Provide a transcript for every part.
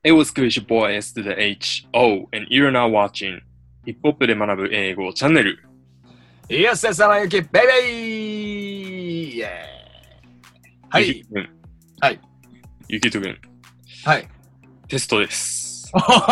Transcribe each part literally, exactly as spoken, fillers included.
It was good, your boy S to the H. O, and you're now watching ヒップホップで学ぶ英語チャンネル。 イエスです、さなゆき、ベイベーイエーはい。はい。 ゆきとくん。 はい。 テストです。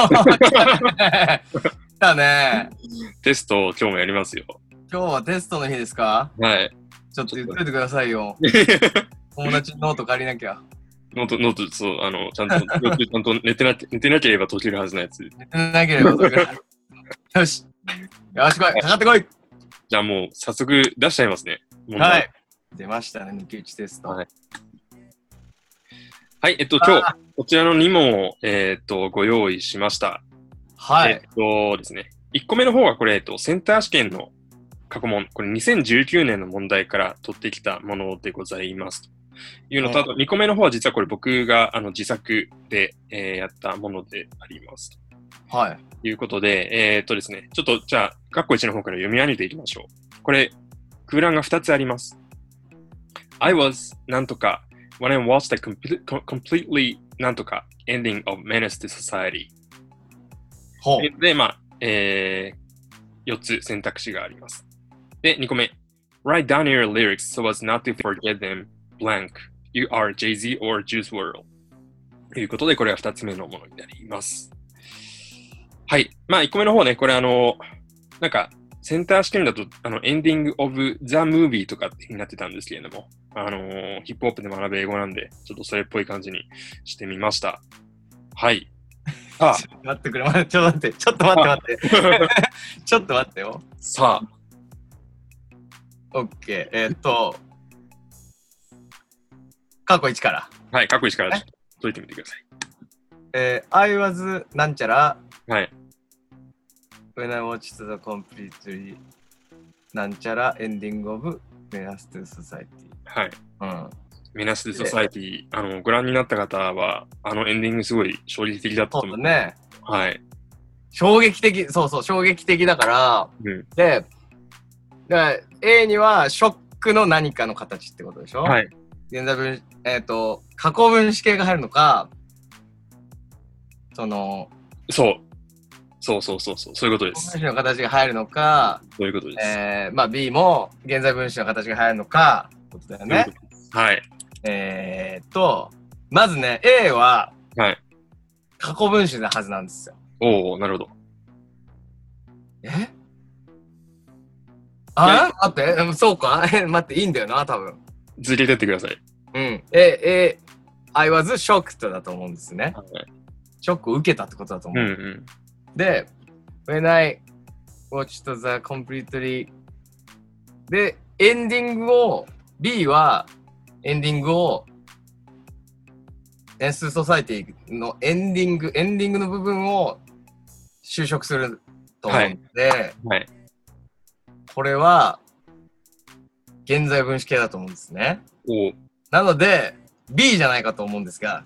だね。 テスト今日もやりますよ。 今日はテストの日ですか？ はい。 ちょっと言っといてくださいよ。友達のノート借りなきゃ。 ノート、ノート、そう、あの、ちゃんと、ちゃんと寝てな、寝てなければ解けるはずのやつ。 寝てなければ解ける。よし。よし、来い。かかってこい。 じゃあもう、早速出しちゃいますね。 はい。出ましたね、抜き打ちテスト。 はい。はい、えっと、今日、こちらのに問を、えー、っと、ご用意しました。 はい。 えっとですね、いっこめの方はこれ、えっと、センター試験の過去問、これにせんじゅうきゅうねんの問題から取ってきたものでございます。というのと、あとにこめの方は実はこれ僕があの自作で、えー、やったものであります。 はい。 ということで、えー、っとですね、ちょっとじゃあ、括弧いちの方から読み上げていきましょう。これ、空欄がふたつあります。I was なんとか when I watched the complete, completely なんとか ending of Menace to Society。 ほう。 で、まあ、えー、よっつ選択肢があります。で、にこめ。Write down your lyrics so as not to forget them blank. You are Jay-Z or Juice world. ということで、これはふたつめのものになります。はい。まあ、いっこめの方ね、これあの、なんか、センター試験だと、あの、エンディングオブザムービーとかってなってたんですけれども、あのー、ヒップホップで学ぶ英語なんで、ちょっとそれっぽい感じにしてみました。はい。 ああちょっと待ってくれ、ちょっと待って、ちょっと待って待って。ちょっと待ってよ。 さあ。 オッケー。えー、っと、過去いちから。 はい、過去いちからちょっと解いてみてください。 えー、I was なんちゃら。 はい。 When I watched the completely なんちゃら ending of Menace to Society。 はい。 うん。 Menace to Society、あの、ご覧になった方は、あのエンディングすごい衝撃的だったと思う。 そうだね。 はい。 衝撃的、そうそう、衝撃的だから、 うん、 で、だから A にはショックの何かの形ってことでしょ？ はい。 現在分、えっと、過去分詞形が入るのか、その、 そう。そうそうそうそう、そういうことです。 過去分詞の形が入るのか、 そういうことです。 えー、まあ B も現在分詞の形が入るのか、ってことだよね。 はい。 えーっと、まずね、A は、 はい。 過去分詞なはずなんですよ。 おお、なるほど。 えあ待って、そうか待って、いいんだよな、多分。 続けてってください。 うん。え、え、I was shocked だと思うんですね。 はい、 ショックを受けたってことだと思う。 うんうん、 で、when I watched the completely で、エンディングを、B はエンディングを、エンスソサイティのエンディング、エンディングの部分を修飾すると思うので、はいはい、これは現在分詞形だと思うんですね。 おなので B じゃないかと思うんですが。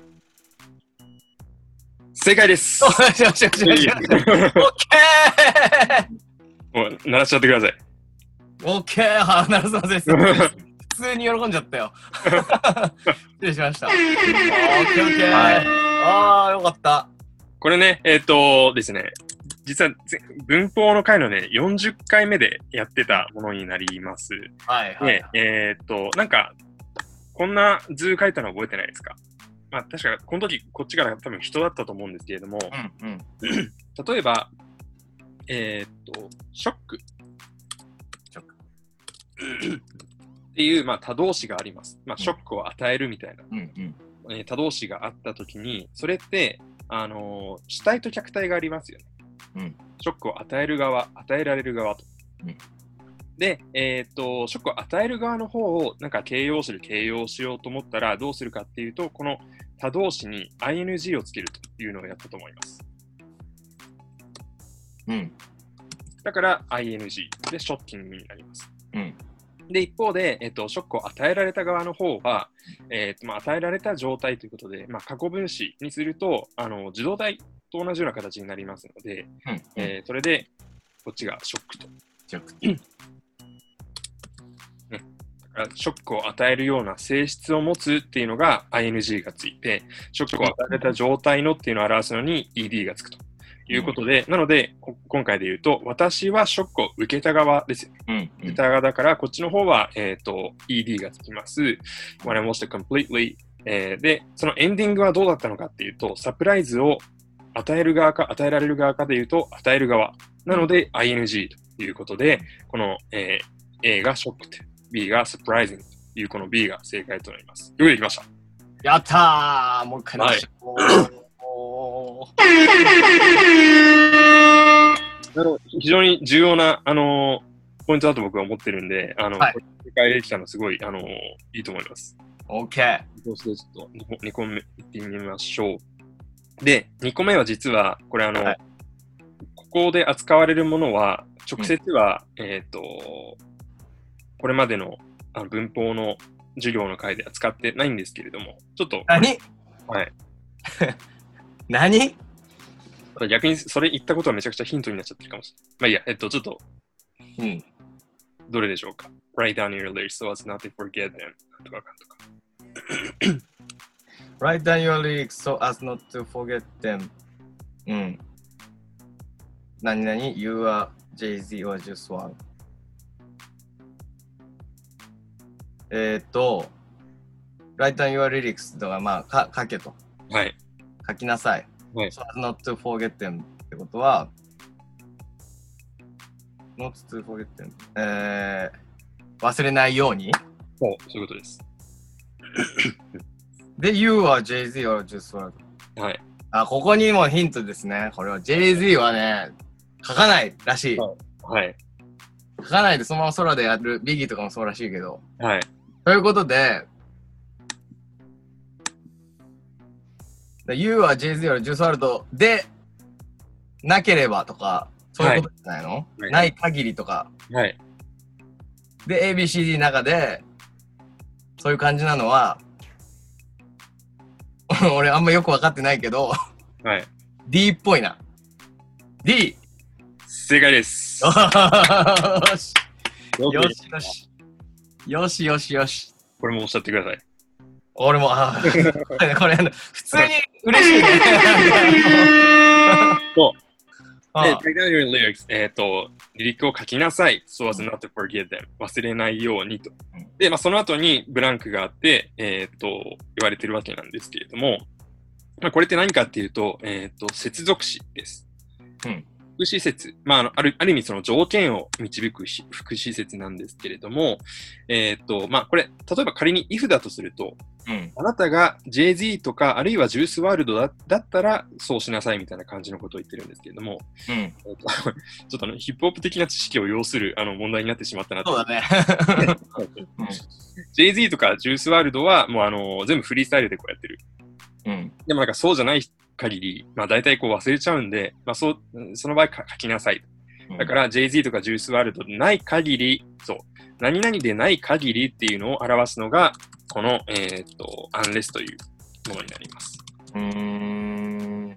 正解です。 よしよしよしよしよし。オッケー。もう鳴らしちゃってください。 オッケー。は鳴らすません。普通に喜んじゃったよ。失礼しました。オッケーオッケー。はい、ああよかった。 これね、えっ、ー、とですね。実は文法の回のね、よんじゅっかいめでやってたものになります。 はいはい、はい。 で、えっ、ー、と、なんか、こんな図書いたの覚えてないですか？まあ、確か、この時、こっちから多分人だったと思うんですけれども、 うんうん、 例えば、えっ、ー、と、ショック。 ショック。 っていう、まあ、他動詞があります。まあ、ショックを与えるみたいな、 うんうんえー、他動詞があった時に、それって、あのー、主体と客体がありますよね。 うん、 ショックを与える側、与えられる側と。うん、で、えっ、ー、と、ショックを与える側の方をなんか形容詞で形容しようと思ったらどうするかっていうと、この他動詞に アイエヌジー をつけるというのをやったと思います。 うん。 だから アイエヌジー でショッキングになります。 うん。 で、一方で、えっ、ー、と、ショックを与えられた側の方は、えっ、ー、と、まあ、与えられた状態ということで、まあ、過去分詞にすると、あの、受動体と同じような形になりますので、うんうん、えー、それでこっちがショックと。 ショック。 ね、だかショックを与えるような性質を持つっていうのが アイエヌジー がついて、ショックを与えた状態のっていうのを表すのに イーディー がつくということで、うん、なので、今回で言うと、私はショックを受けた側ですよ。うんうん、受けた側だから、こっちの方は、えっと、イーディー がつきます。When I watched it completely、えー。で、そのエンディングはどうだったのかっていうと、サプライズを与える側か、与えられる側かで言うと、与える側。なので、アイエヌジー ということで、この、えー、A がショック、B が surprising というこの B が正解となります。よくできました。 やったー、もう一回直しましょう。 あの非常に重要な、あのー、ポイントだと僕は思ってるんで、あの、はい、正解できたのすごい、あのー、いいと思います。 OK。 そうしてちょっとにこめいってみましょう。で、にこめは実は、これあの、はい、ここで扱われるものは、直接は、うん、えっと、これまでのあの文法の授業の回では使ってないんですけれども、ちょっと。 何はい。 何逆にそれ言ったことはめちゃくちゃヒントになっちゃってるかもしれない。まあいいや、えっと、ちょっと、 うん。 どれでしょうか。Write down your lyrics so as not to forget them. とかかとか。 Write down your lyrics so as not to forget them. うん。何々 You are Jay-Z or Juiceワールド。えー、っと、Write down your lyrics とか、まあ、か書けと。 はい。 書きなさい。 はい、 so as not to forget them ってことは、not to forget them、えー、忘れないように。 そう、そういうことです。 で、You are Jay-Z or Juiceワールド。はい。 あ、ここにもヒントですね。これは Jay-Z はね、書かないらしい。 はい。はい、 書かないでそのまま空でやる、ビギーとかもそうらしいけど。 はい。 ということで、You are Jay-Z or Juiceワールドでなければとか、そういうことじゃないの、はい、ない限りとか。 はい。 で、エービーシーディー の中で、そういう感じなのは、俺あんまよくわかってないけど、 はい。 D っぽいな。D! 正解です。 よし。よしよし。よしよしよし。 これもおっしゃってください。 俺も、あこれ、普通に嬉しいね。 そう。で、take down your lyrics、えっと、リリックを書きなさい。so as not to forget them。忘れないようにと。で、まあ、その後にブランクがあって、えっと、言われてるわけなんですけれども、まあ、これって何かっていうと、えっと、接続詞です。 うん。 副詞説。まあ、あの、ある、ある意味その条件を導く副詞説なんですけれども、えっと、まあ、これ、例えば仮に if だとすると、 うん、 あなたが ジェイズイー とか、あるいはジュースワールド だ, だったら、そうしなさいみたいな感じのことを言ってるんですけれども、 うん、 えー、とちょっとあのヒップホップ的な知識を要するあの問題になってしまったなと。 そうだね。 ジェイズイー とかジュースワールドは、もうあの全部フリースタイルでこうやってる。 うん、 でもなんかそうじゃない限り、まあ大体こう忘れちゃうんで、まあそう、その場合書きなさい。だから ジェイズイー とかジュースワールドでない限り、そう、何々でない限りっていうのを表すのが、この、えっと、unless というものになります。 うーん。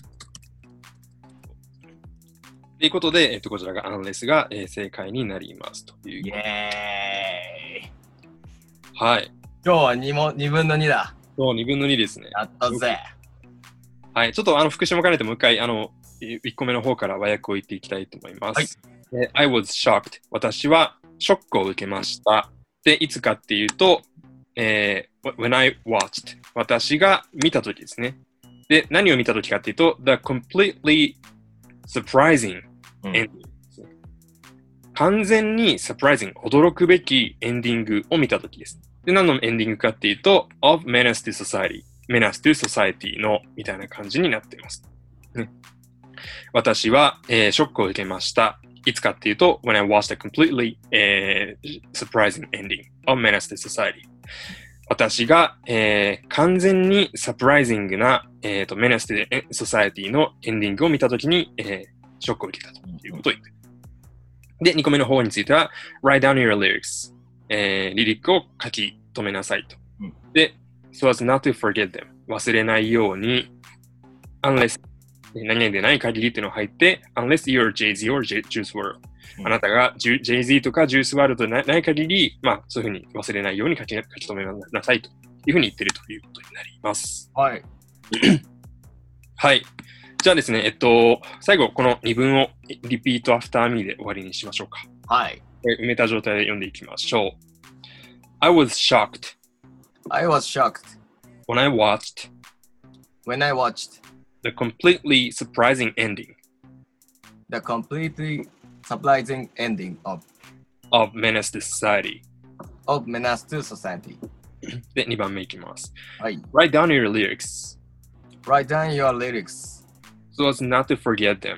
ということで、えっと、こちらが unless が、えー、正解になりますという。 イェーイ。 はい。 今日はにもにぶんのにだ。 そう、にぶんのにですね。 やったぜ。 はい。ちょっとあの復習も兼ねてもう一回、あの、いっこめの方から和訳を言っていきたいと思います。はい。I was shocked. 私はショックを受けました。で、いつかっていうと、えー、when I watched 私が見たときですね。で、何を見たときかっていうと the completely surprising ending、うん、完全に surprising 驚くべきエンディングを見たときです。で、何のエンディングかっていうと of menace to society menace to society のみたいな感じになっています、ね、私は、えー、ショックを受けました。いつかっていうと when I watched a completely、えー、surprising ending of menace to society私が、えー、完全にサプライズングな、えーと、メナスティソサエティのエンディングを見たときに、えー、ショックを受けたということを言っている。で、にこめの方については、write down your lyrics、えー、リリックを書き留めなさいと。 うん、 で、so as not to forget them 忘れないように、unless 何々でない限りっていうのが入って、unless you're Jay-Z or Juiceワールドあなたが ジェイズイ とかジュースワールドでない限り、まあ、そういうふうに忘れないように書き書き留めなさいというふうに言ってるということになります。 はい。 はい。じゃあですね、えっと、最後、このに文をリピートアフターミーで終わりにしましょうか。 はい。 埋めた状態で読んでいきましょう。I was shocked. I was shocked. When I watched. When I watched. The completely surprising ending. The completely surprising ending of. Of Menace to Society. Of Menace to Society. で、にばんめいきます。 はい。 Write down your lyrics. Write down your lyrics. So as not to forget them.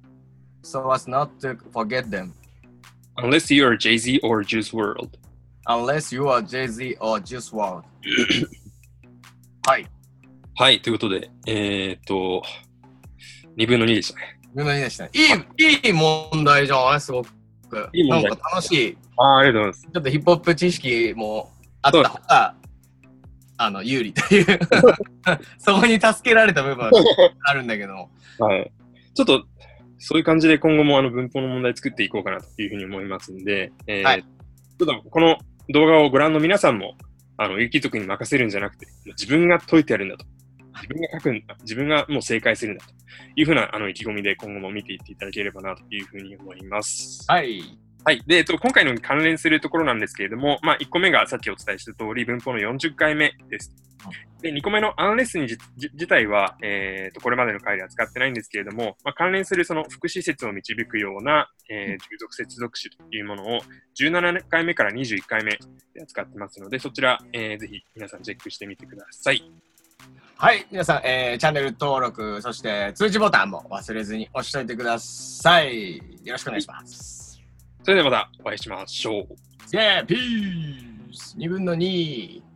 So as not to forget them. Unless you are Jay Z or Juice world. Unless you are Jay Z or Juice world. はい。 はい、ということで、えー、っと、にぶんのにでしたね。 にぶんのにでしたね。いい、いい問題じゃないすごく。 いい問題。 なんか楽しい。 ああ、ありがとうございます。 ちょっとヒップホップ知識もあった方が、あの、有利という。そこに助けられた部分はあるんだけど。 はい。ちょっと、そういう感じで今後もあの文法の問題作っていこうかなというふうに思いますんで、えーはい、ちょっとこの動画をご覧の皆さんも、あの、ゆきとくんに任せるんじゃなくて、自分が解いてやるんだと。自分が書くんだ。自分がもう正解するんだというふうなあの意気込みで今後も見ていっていただければなというふうに思います。 はい。 はい。で、えっと、今回の関連するところなんですけれども、まあ、いっこめがさっきお伝えした通り、文法のよんじゅっかいめです。で、にこめのアンレスにじ自体は、えーと、これまでの回では使ってないんですけれども、まあ、関連するその副詞説を導くような、えー、従属接続詞というものをじゅうななかいめからにじゅういっかいめで扱ってますので、そちら、えー、ぜひ皆さんチェックしてみてください。 はい。皆さん、えー、チャンネル登録、そして通知ボタンも忘れずに押しておいてください。よろしくお願いします。 それではまたお会いしましょう。 イェーピースにぶんのに